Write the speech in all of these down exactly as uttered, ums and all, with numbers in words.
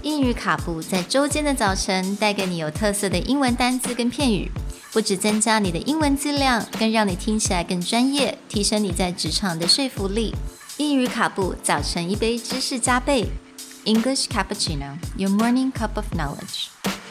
英语卡布在周间的早晨带给你有特色的英文单字跟片语，不只增加你的英文质量，更让你听起来更专业，提升你在职场的说服力。英语卡布早晨一杯知识加倍 English Cappuccino, your morning cup of knowledge.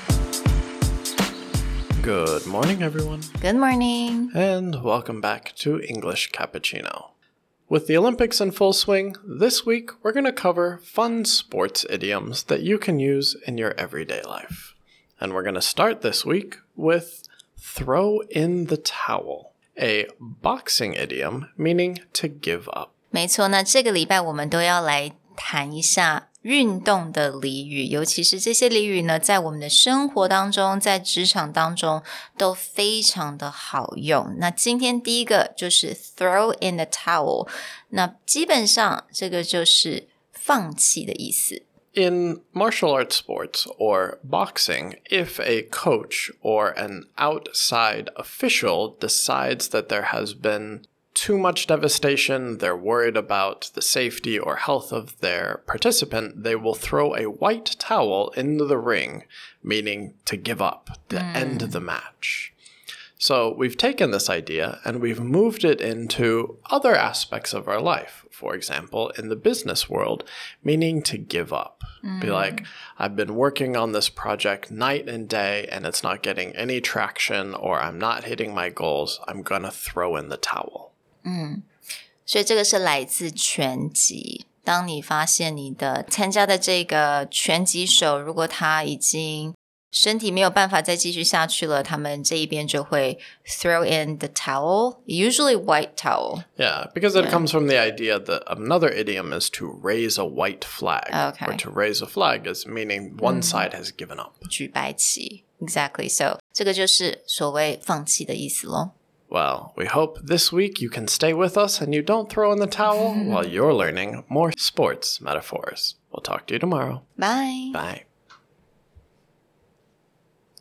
Good morning, everyone. Good morning. And welcome back to English Cappuccino. With the Olympics in full swing, this week we're going to cover fun sports idioms that you can use in your everyday life. And we're going to start this week with throw in the towel, a boxing idiom meaning to give up. 没错，那这个礼拜我们都要来谈一下运动的俚语，尤其是这些俚语呢，在我们的生活当中，在职场当中都非常的好用。那今天第一个就是 throw in the towel， 那基本上这个就是放弃的意思。 In martial arts sports or boxing, if a coach or an outside official decides that there has been too much devastation, they're worried about the safety or health of their participant, they will throw a white towel into the ring, meaning to give up, to mm. end the match. So we've taken this idea and we've moved it into other aspects of our life. For example, in the business world, meaning to give up. Mm. Be like, I've been working on this project night and day and it's not getting any traction, or I'm not hitting my goals. I'm gonna throw in the towel. 嗯，所以这个是来自拳击。当你发现你的参加的这个拳击手，如果他已经身体没有办法再继续下去了，他们这一边就会 throw in the towel, usually white towel. Yeah, because it yeah. comes from the idea that another idiom is to raise a white flag. Okay. Or to raise a flag is meaning one mm. side has given up. 举白旗 Exactly. So 这个就是所谓放弃的意思咯。 Well, we hope this week you can stay with us and you don't throw in the towel while you're learning more sports metaphors. We'll talk to you tomorrow. Bye. Bye.